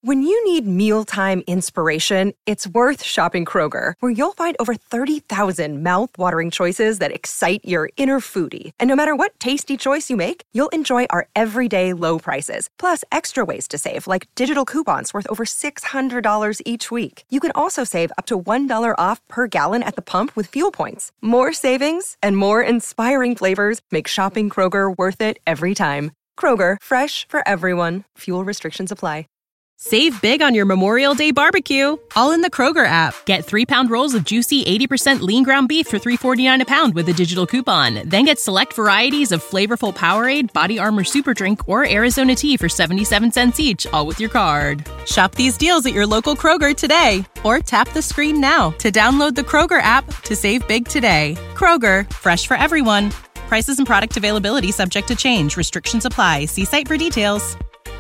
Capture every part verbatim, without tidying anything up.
When you need mealtime inspiration, it's worth shopping Kroger, where you'll find over thirty thousand mouth-watering choices that excite your inner foodie. And no matter what tasty choice you make, you'll enjoy our everyday low prices, plus extra ways to save, like digital coupons worth over six hundred dollars each week. You can also save up to one dollar off per gallon at the pump with fuel points. More savings and more inspiring flavors make shopping Kroger worth it every time. Kroger, fresh for everyone. Fuel restrictions apply. Save big on your Memorial Day barbecue, all in the Kroger app. Get three-pound rolls of juicy eighty percent lean ground beef for three forty-nine a pound with a digital coupon. Then get select varieties of flavorful Powerade, Body Armor Super Drink, or Arizona tea for seventy-seven cents each, all with your card. Shop these deals at your local Kroger today, or tap the screen now to download the Kroger app to save big today. Kroger, fresh for everyone. Prices and product availability subject to change. Restrictions apply. See site for details.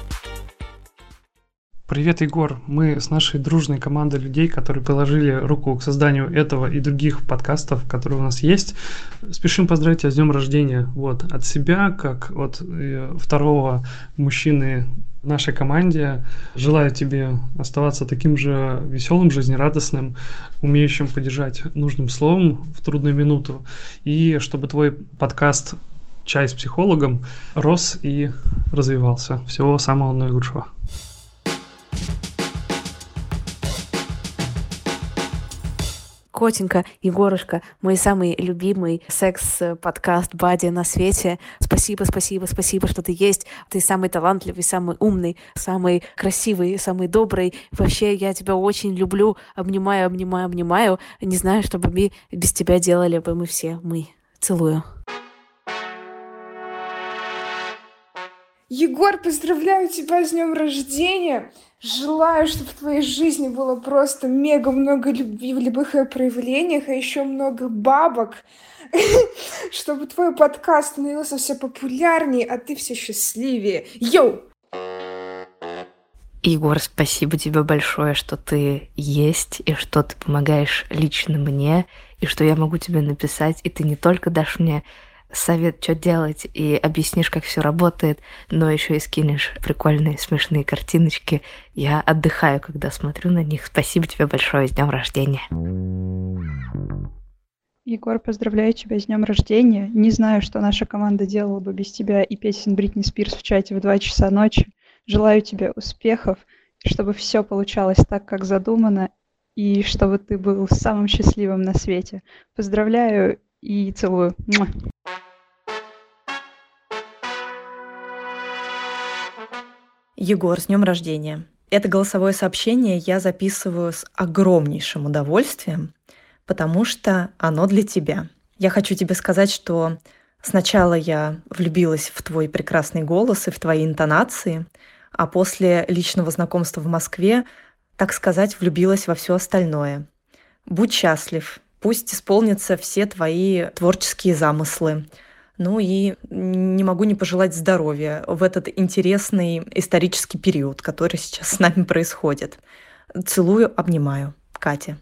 Привет, Егор. Мы с нашей дружной командой людей, которые приложили руку к созданию этого и других подкастов, которые у нас есть, спешим поздравить тебя с днем рождения. Вот, от себя, как от э, второго мужчины в нашей команде, желаю тебе оставаться таким же веселым, жизнерадостным, умеющим поддержать нужным словом в трудную минуту, и чтобы твой подкаст «Чай с психологом» рос и развивался. Всего самого наилучшего. Котенька, Егорушка, мой самый любимый секс-подкаст Бади на свете. Спасибо, спасибо, спасибо, что ты есть. Ты самый талантливый, самый умный, самый красивый, самый добрый. Вообще, я тебя очень люблю. Обнимаю, обнимаю, обнимаю. Не знаю, что бы мы без тебя делали бы мы все. Мы. Целую. Егор, поздравляю тебя с днем рождения! Желаю, чтобы в твоей жизни было просто мега много любви в любых ее проявлениях, а еще много бабок, чтобы твой подкаст становился все популярнее, а ты все счастливее. Йоу! Егор, спасибо тебе большое, что ты есть, и что ты помогаешь лично мне, и что я могу тебе написать, и ты не только дашь мне совет, что делать, и объяснишь, как все работает, но еще и скинешь прикольные, смешные картиночки. Я отдыхаю, когда смотрю на них. Спасибо тебе большое, с днем рождения. Егор, поздравляю тебя с днем рождения. Не знаю, что наша команда делала бы без тебя и песен Бритни Спирс в чате в два часа ночи. Желаю тебе успехов, чтобы все получалось так, как задумано, и чтобы ты был самым счастливым на свете. Поздравляю и целую. Муа. Егор, с днем рождения. Это голосовое сообщение я записываю с огромнейшим удовольствием, потому что оно для тебя. Я хочу тебе сказать, что сначала я влюбилась в твой прекрасный голос и в твои интонации, а после личного знакомства в Москве, так сказать, влюбилась во все остальное. Будь счастлив, пусть исполнятся все твои творческие замыслы. Ну и не могу не пожелать здоровья в этот интересный исторический период, который сейчас с нами происходит. Целую, обнимаю. Катя.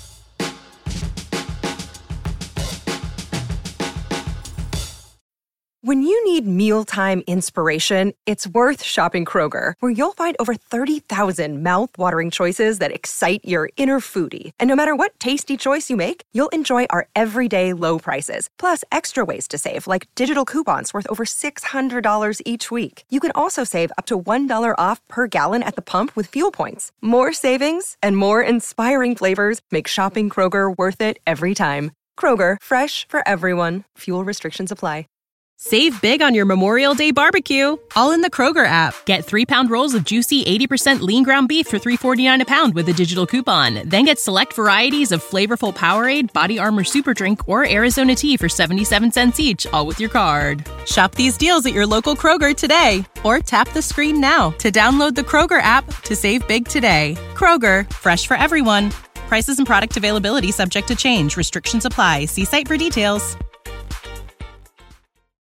When you need mealtime inspiration, it's worth shopping Kroger, where you'll find over thirty thousand mouth-watering choices that excite your inner foodie. And no matter what tasty choice you make, you'll enjoy our everyday low prices, plus extra ways to save, like digital coupons worth over six hundred dollars each week. You can also save up to one dollar off per gallon at the pump with fuel points. More savings and more inspiring flavors make shopping Kroger worth it every time. Kroger, fresh for everyone. Fuel restrictions apply. Save big on your Memorial Day barbecue, all in the Kroger app. Get three-pound rolls of juicy eighty percent lean ground beef for three forty-nine a pound with a digital coupon. Then get select varieties of flavorful Powerade, Body Armor Super Drink, or Arizona tea for seventy-seven cents each, all with your card. Shop these deals at your local Kroger today, or tap the screen now to download the Kroger app to save big today. Kroger, fresh for everyone. Prices and product availability subject to change. Restrictions apply. See site for details.